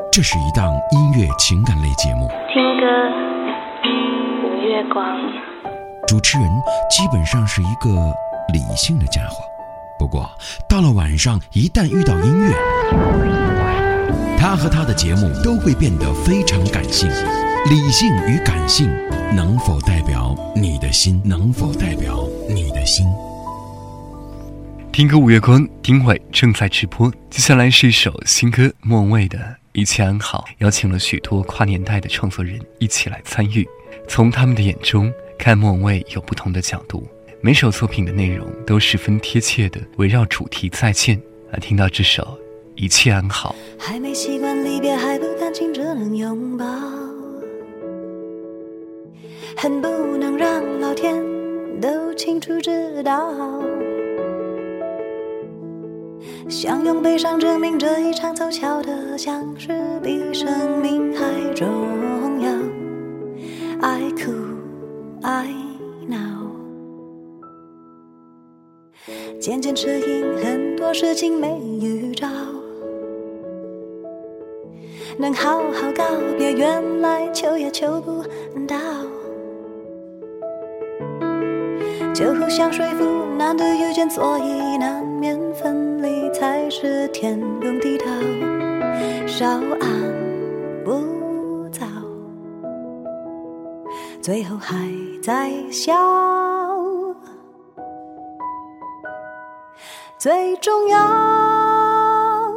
这是一档音乐情感类节目， 听歌无月光。 主持人基本上是一个理性的家伙，不过到了晚上一旦遇到音乐，他和他的节目都会变得非常感性。理性与感性能否代表你的心？能否代表你的心？ 听歌五月光，丁伟正在直播。接下来是一首新歌，莫文蔚的《一切安好》，邀请了许多跨年代的创作人一起来参与，从他们的眼中看莫文蔚有不同的角度，每首作品的内容都十分贴切的围绕主题再见。来听到这首《一切安好》。 还没习惯离别，还不甘心只能拥抱，恨不能让老天都清楚知道，想用悲伤证明这一场凑巧的相识比生命还重要。爱哭爱闹，渐渐适应很多事情没预兆，能好好告别，原来求也求不到，就互相说服，难得遇见，所以难免分离，才是天公地道，稍安勿躁，最后还在笑，最重要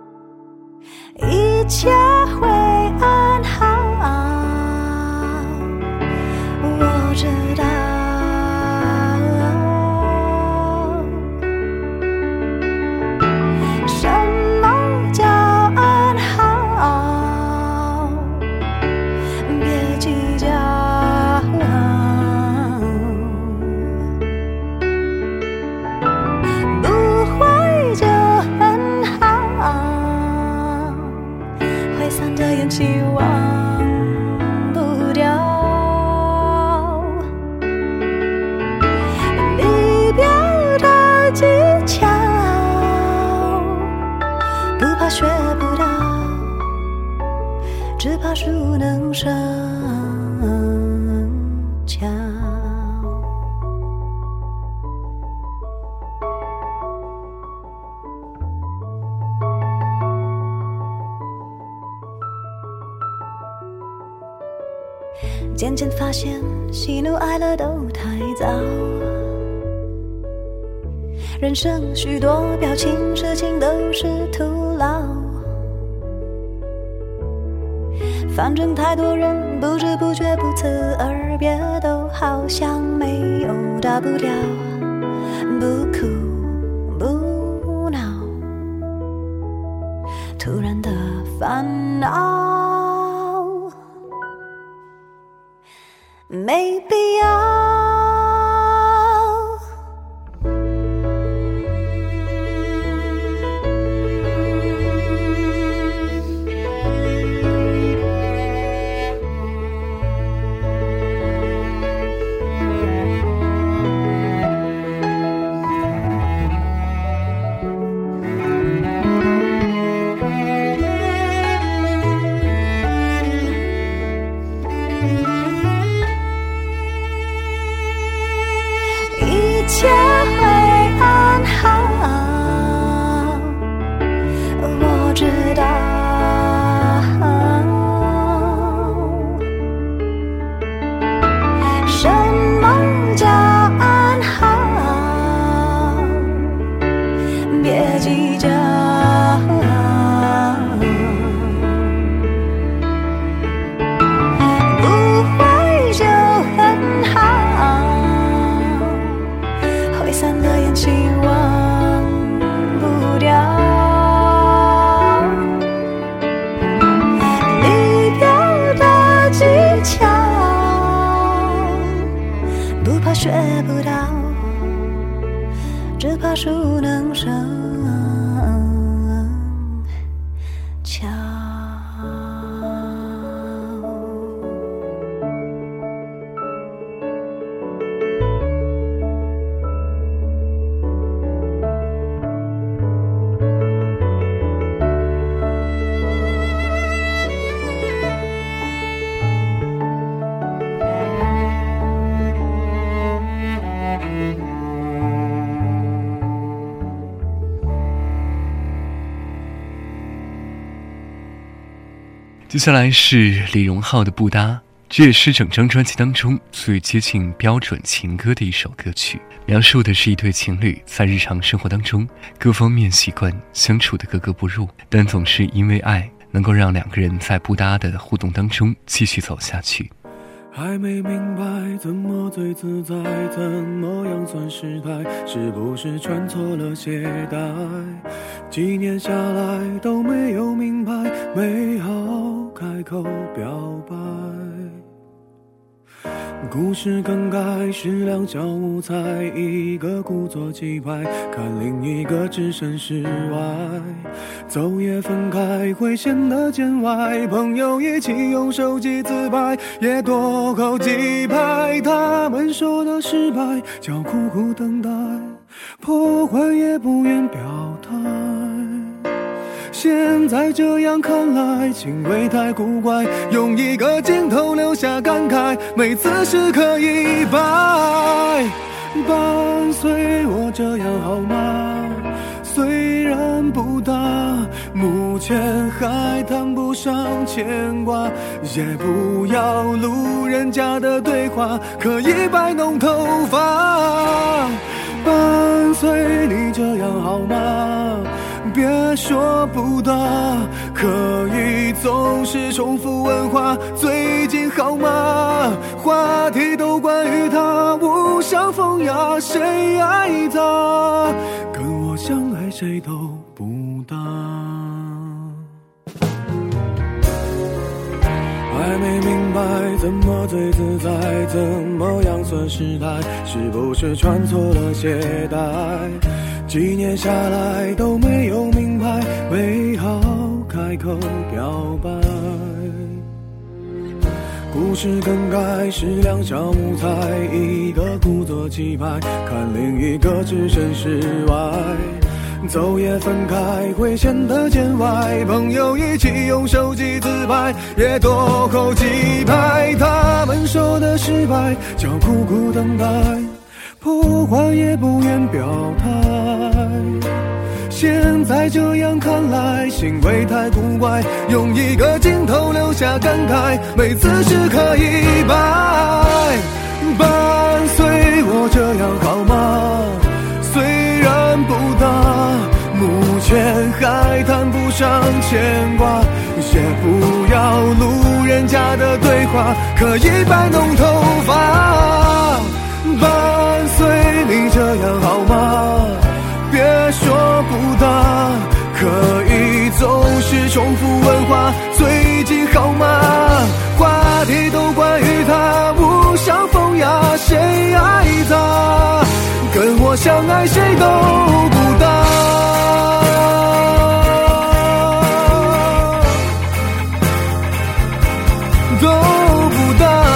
一切会安好，我知道什么叫安好，别计较，不会就很好，挥散的烟气忘不掉，离别的技巧不怕学不到，只怕熟能生巧。渐渐发现喜怒哀乐都太早，人生许多表情事情都是徒劳，反正太多人不知不觉不辞而别，都好像没有大不了，不哭不闹，突然的烦恼没必要。一切会安好，我知道什么叫安好，别计较，不会就很好，挥散的烟气忘不掉，离别的技巧不怕学不到，只怕熟能生巧。 接下来是李荣浩的《不搭》，这也是整张专辑当中最接近标准情歌的一首歌曲，描述的是一对情侣在日常生活当中各方面习惯相处的格格不入，但总是因为爱能够让两个人在不搭的互动当中继续走下去。 还没明白怎么最自在，怎么样算失态，是不是穿错了鞋带，几年下来都没有明白，没好开口表白。故事更改是两小无猜，一个故作气派，看另一个置身事外，走也分开会显得见外，朋友一起用手机自拍，也多扣几拍，他们说的失败叫苦苦等待，破坏也不愿表态，现在这样看来行为太古怪，用一个镜头留下感慨，每次时刻一摆，伴随我这样好吗？虽然不大，目前还谈不上牵挂，也不要路人甲的对话，可以摆弄头发，伴随你这样好吗？别说不搭，可以总是重复问话，最近好吗？话题都关于他，无伤风雅，谁爱他？跟我相爱谁都不搭。还没明白怎么最自在，怎么样算失态，是不是穿错了鞋带，几年下来都没有明白，没好开口表白。故事更改是两小无猜，一个故作气派，看另一个置身事外，走也分开会显得见外，朋友一起用手机自拍，也多扣几拍，他们说的失败叫苦苦等待，破坏也不愿表态，现在这样看来行为太古怪，用一个镜头留下感慨，每次时刻一摆，伴随我这样好吗？虽然不大，目前还谈不上牵挂，也不要路人甲的对话，可以摆弄头发，伴随你这样好吗？别说不搭，可以总是重复问话，最近好吗？话题都关于他，无伤风雅，谁爱他？跟我相爱谁都不搭，都不搭。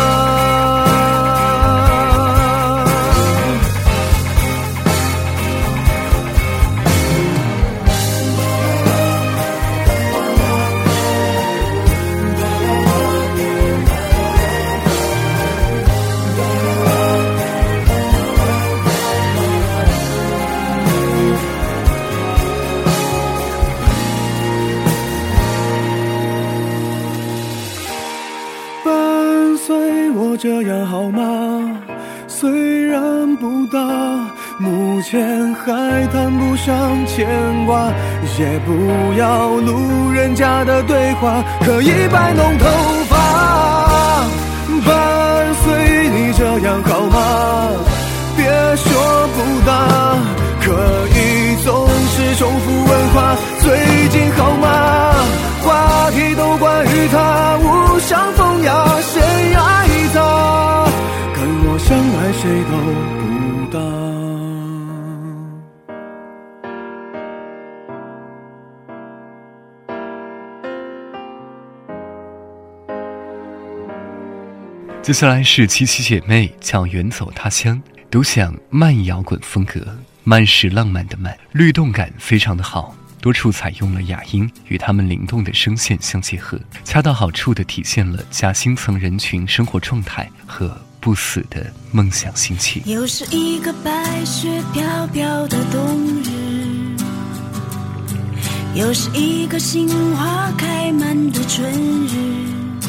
这样好吗？虽然不大，目前还谈不上牵挂，也不要路人甲的对话，可以摆弄头发，伴随你这样好吗？别说不搭，可以总是重复问话，最近好吗？话题都关于他，无伤风雅，谁爱他？跟我相爱谁都不搭。 接下来是七七姐妹叫远走他乡，都想慢摇滚风格，慢是浪漫的慢，律动感非常的好，多处采用了哑音，与他们灵动的声线相结合，恰到好处地体现了夹心层人群生活状态和不死的梦想心情。 又是一个白雪飘飘的冬日，又是一个杏花开开满的春日，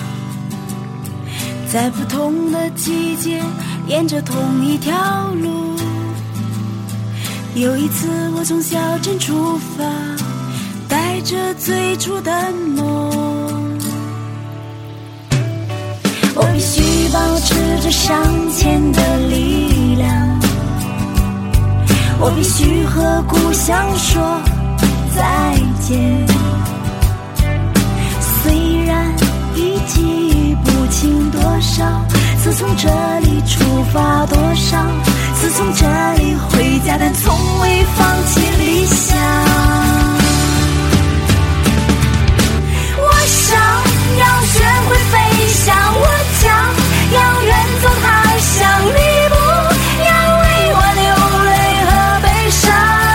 在不同的季节沿着同一条路。有一次我从小镇出发，带着最初的梦，我必须保持着向前的力量，我必须和故乡说再见。虽然已记不清多少次从这里出发，多少次从这里回家，但从未放弃理想。我想要学会飞翔，我将要远走他乡，你不要为我流泪和悲伤。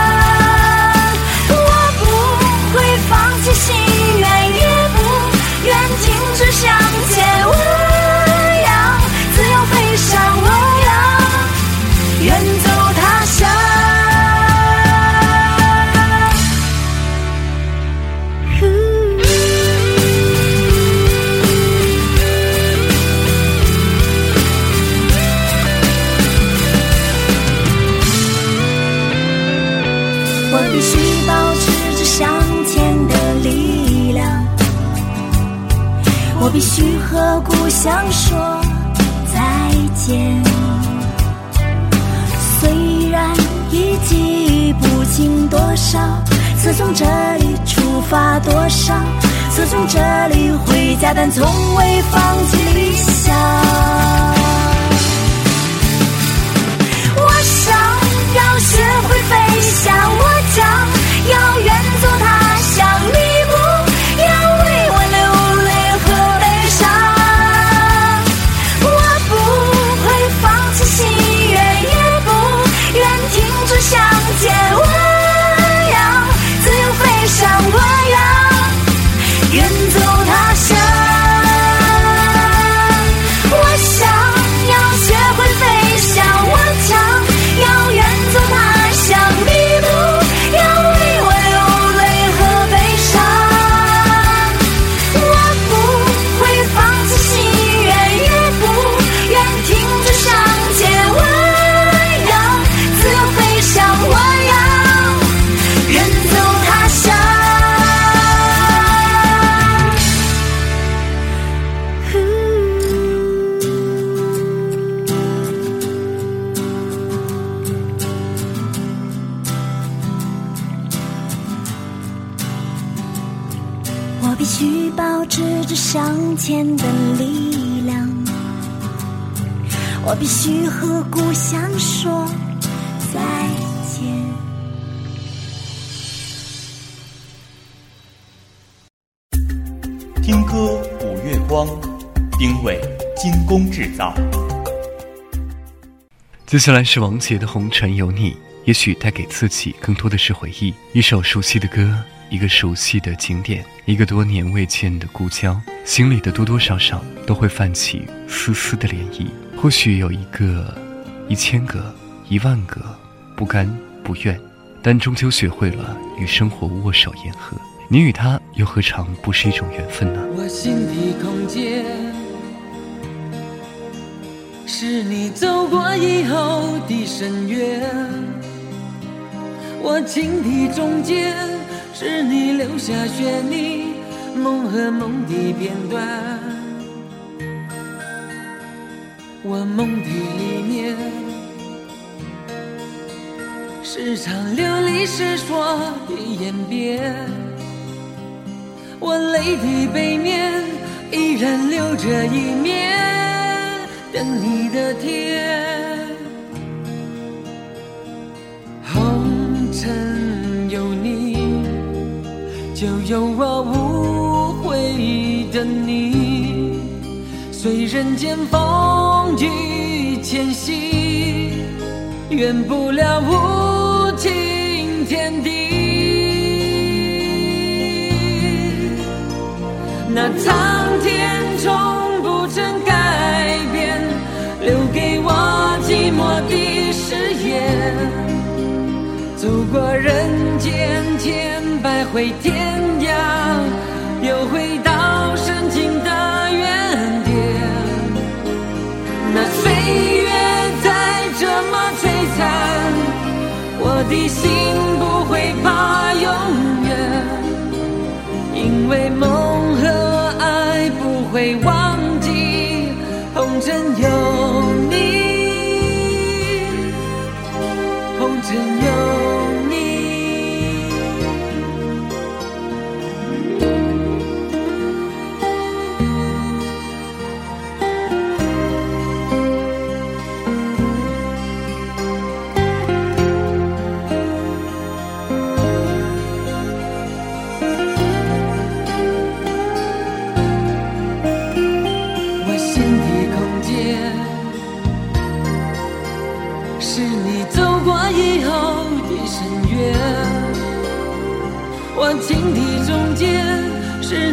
我不会放弃心愿，也不愿停止向前。我要自由飞翔，我要远走他乡。我必须保持着向前的力量，我必须和故乡说再见。虽然已记不清多少次从这里出发，多少次从这里回家，但从未放弃理想。我想要学会飞翔，我将要远走他乡，你不要为我流泪和悲伤。我不会放弃心愿，也不愿停止向前。我要自由飞翔，我要远走他乡。我想要学会飞翔，我将要远走他乡，你不要为我流泪和悲伤。我不会放弃心愿，也不愿停止向前。我要自由飞翔，我要远走他乡。我必须保持着向前的力量，我必须和故乡说再见。 听歌五月光，丁伟精工制造。 接下来是王杰的《红尘有你》，也许带给自己更多的是回忆，一首熟悉的歌，一个熟悉的景点，一个多年未见的故交，心里的多多少少都会泛起丝丝的涟漪。或许有一个、1000个、10000个不甘不愿，但终究学会了与生活握手言和。你与他又何尝不是一种缘分呢？ 我心的空间是你走过以后的深渊，我情的中间是你留下旋律梦和梦的片段。我梦的里面是场流离失所的演变，我泪的背面依然留着一面等你的天。红尘有你，就有我无悔的你，随人间风雨迁徙，圆不了无尽天地。那苍天终不曾改变，留给我寂寞的誓言。走过人间千百回天涯，又回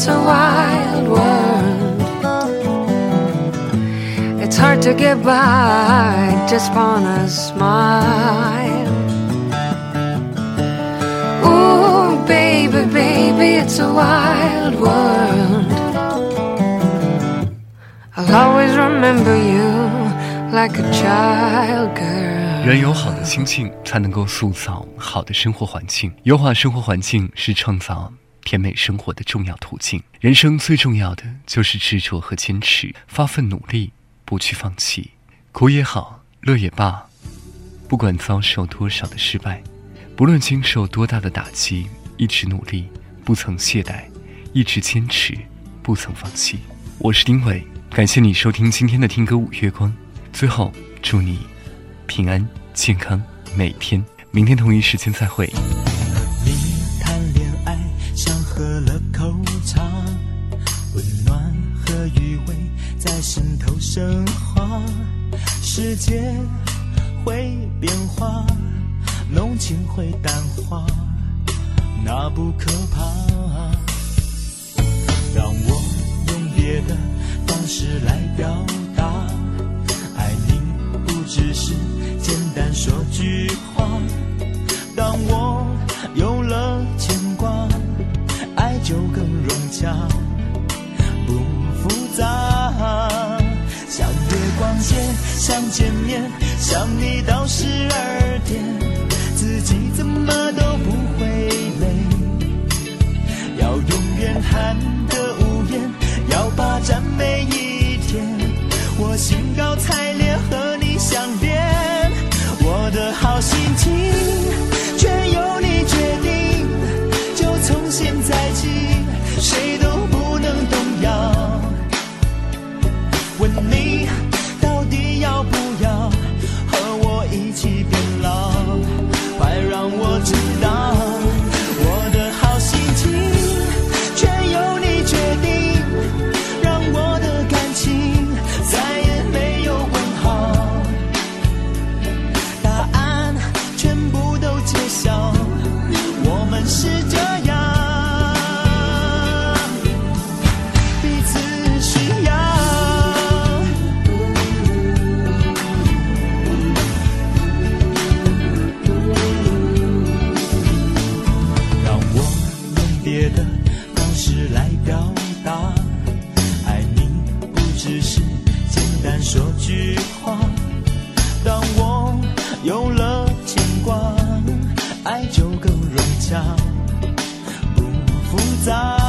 it's a wild world. It's hard to get by just on a smile. Ooh, baby, baby, it's a wild world. I'll always remember you like a child girl. 人有好的心境，才能够塑造好的生活环境。优化生活环境是创造甜美生活的重要途径。人生最重要的就是执着和坚持，发奋努力，不去放弃。苦也好，乐也罢，不管遭受多少的失败，不论经受多大的打击，一直努力，不曾懈怠，一直坚持，不曾放弃。我是丁伟，感谢你收听今天的听歌五月光。最后祝你平安健康每天，明天同一时间再会。 你谈恋爱像喝了口茶，温暖和余味在心头升华，世界会变化，浓情会淡化，那不可怕。让我用别的方式来表达，爱你不只是简单说句话，当我有了牵挂，爱就更融洽，不复杂。像月光街，想见面，想你到12点，自己怎么都不会累，要永远含着无言，要霸占每一天，我兴高采烈和你相恋，我的好心情全由你决定，就从现在起谁都不能动摇。问你到底要不要和我一起变老，快让我知道，我的好心情全由你决定，让我的感情再也没有问号，答案全部都揭晓，我们是这样，彼此需要。让我用别的方式来表达，爱你不只是简单说句话，当我有了牵挂，爱就更融洽，不复杂。